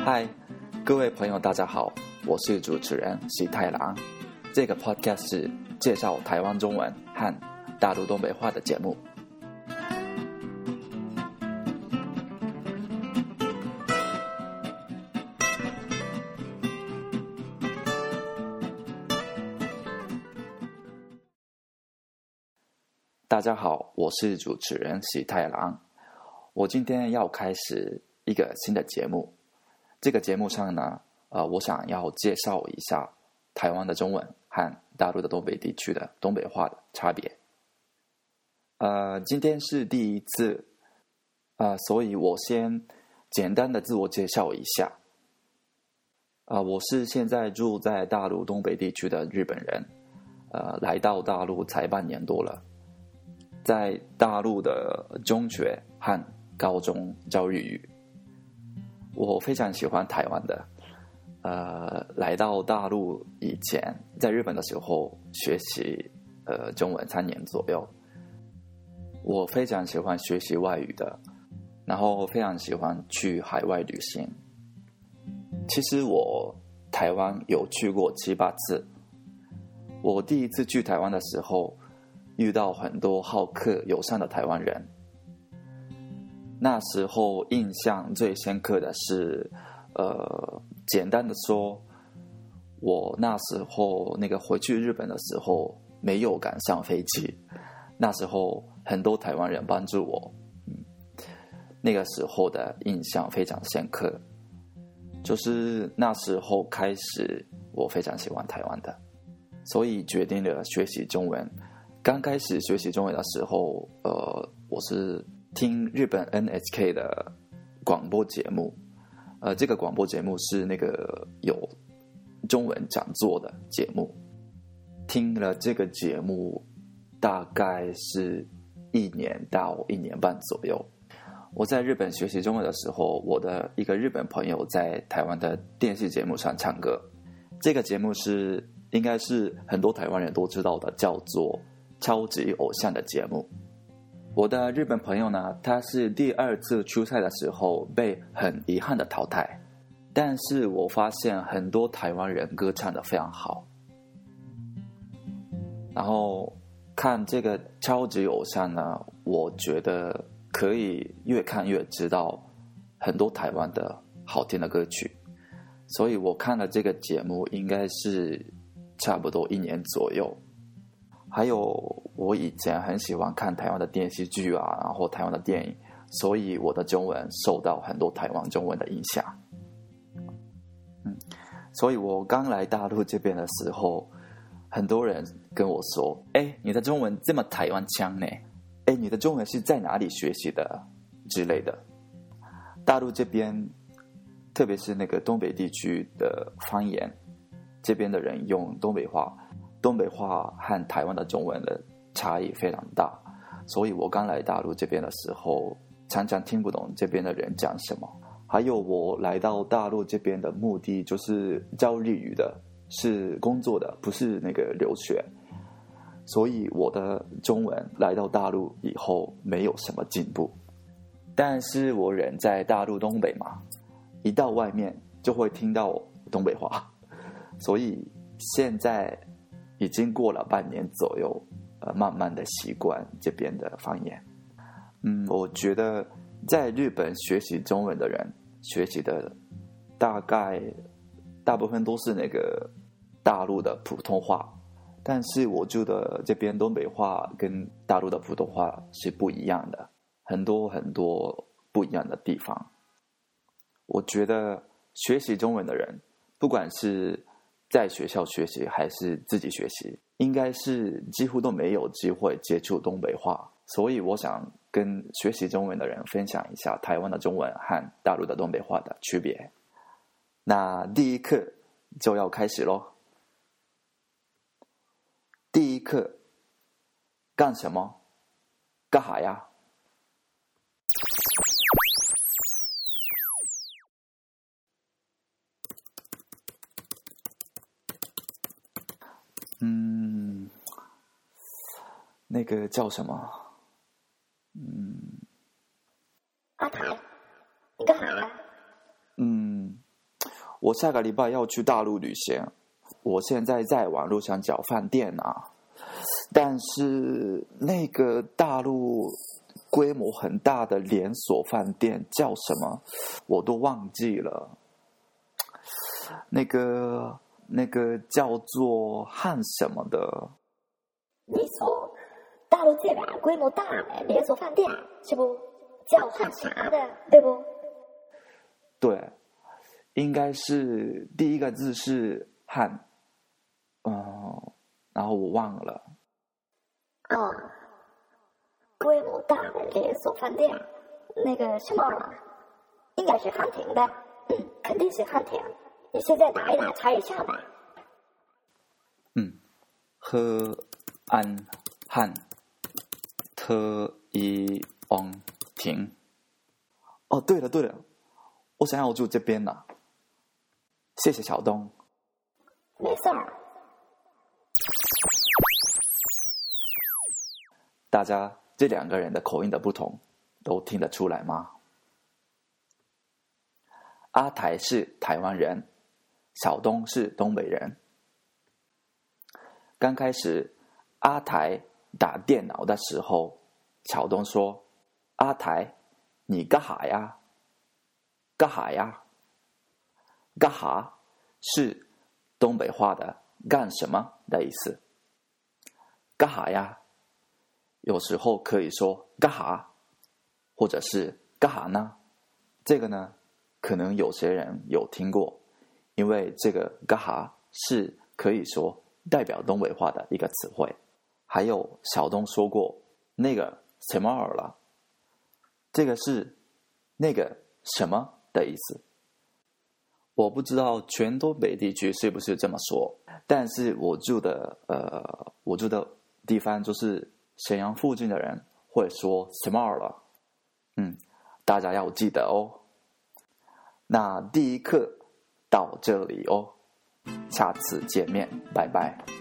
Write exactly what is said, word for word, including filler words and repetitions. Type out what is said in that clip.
嗨，各位朋友，大家好，我是主持人喜太郎。这个 podcast 是介绍台湾中文和大陆东北话的节目。大家好，我是主持人喜太郎。我今天要开始一个新的节目。这个节目上呢，呃，我想要介绍一下台湾的中文和大陆的东北地区的东北话的差别。呃，今天是第一次，呃，所以我先简单的自我介绍一下。呃，我是现在住在大陆东北地区的日本人，呃，来到大陆才半年多了。在大陆的中学和高中教日语，我非常喜欢台湾的。呃，来到大陆以前，在日本的时候学习呃中文三年左右，我非常喜欢学习外语的，然后非常喜欢去海外旅行。其实我台湾有去过七八次。我第一次去台湾的时候，遇到很多好客友善的台湾人。那时候印象最深刻的是，呃，简单的说，我那时候那个回去日本的时候没有赶上飞机，那时候很多台湾人帮助我，嗯，那个时候的印象非常深刻。就是那时候开始，我非常喜欢台湾的，所以决定了学习中文。刚开始学习中文的时候，呃，我是听日本 N H K 的广播节目，呃，这个广播节目是那个有中文讲座的节目。听了这个节目大概是一年到一年半左右。我在日本学习中文的时候，我的一个日本朋友在台湾的电视节目上唱歌。这个节目是应该是很多台湾人都知道的，叫做超级偶像的节目。我的日本朋友呢，他是第二次出赛的时候被很遗憾的淘汰，但是我发现很多台湾人歌唱得非常好。然后看这个超级偶像呢，我觉得可以越看越知道很多台湾的好听的歌曲，所以我看了这个节目应该是差不多一年左右。还有我以前很喜欢看台湾的电视剧啊，然后台湾的电影，所以我的中文受到很多台湾中文的影响。嗯，所以我刚来大陆这边的时候，很多人跟我说：“哎，你的中文这么台湾腔呢？哎，你的中文是在哪里学习的？”之类的。大陆这边，特别是那个东北地区的方言，这边的人用东北话。东北话和台湾的中文的差异非常大，所以我刚来大陆这边的时候，常常听不懂这边的人讲什么。还有我来到大陆这边的目的就是教日语的，是工作的，不是那个留学。所以我的中文来到大陆以后没有什么进步。但是我人在大陆东北嘛，一到外面就会听到东北话，所以现在已经过了半年左右，呃，慢慢的习惯这边的方言。嗯，我觉得在日本学习中文的人，学习的大概大部分都是那个大陆的普通话，但是我住的这边东北话跟大陆的普通话是不一样的，很多很多不一样的地方。我觉得学习中文的人，不管是在学校学习还是自己学习，应该是几乎都没有机会接触东北话，所以我想跟学习中文的人分享一下台湾的中文和大陆的东北话的区别。那第一课就要开始咯。第一课，干什么？干哈呀？嗯，那个叫什么？嗯， 阿台，你干啥呀？ 嗯， 我下个礼拜要去大陆旅行，我现在在网络上找饭店啊，但是那个大陆规模很大的连锁饭店叫什么，我都忘记了。那个那个叫做汉什么的。 你说大陆这个规模大的连锁饭店是不叫汉啥的，对不？ 对，应该是第一个字是汉，嗯，然后我忘了。 哦，规模大的连锁饭店，那个什么，应该是汉庭的，嗯，肯定是汉庭。你现在打一打查一下吧。 嗯，喝安汉特一翁庭。哦，对了对了，我想要住这边呢、啊。谢谢小东。 没事儿。 大家这两个人的口音的不同，都听得出来吗？阿台是台湾人，小东是东北人。刚开始阿台打电脑的时候，小东说：“阿台，你干哈呀？干哈呀？干哈是东北话的干什么的意思。干哈呀？有时候可以说干哈，或者是干哈呢？这个呢，可能有些人有听过，因为这个干哈是可以说代表东北话的一个词汇。还有小东说过那个什么尔了，这个是那个什么的意思。我不知道全东北地区是不是这么说，但是我住的呃，我住的地方就是沈阳附近的人会说什么尔了，嗯，大家要记得哦。那第一课到这里哦，下次见面，拜拜。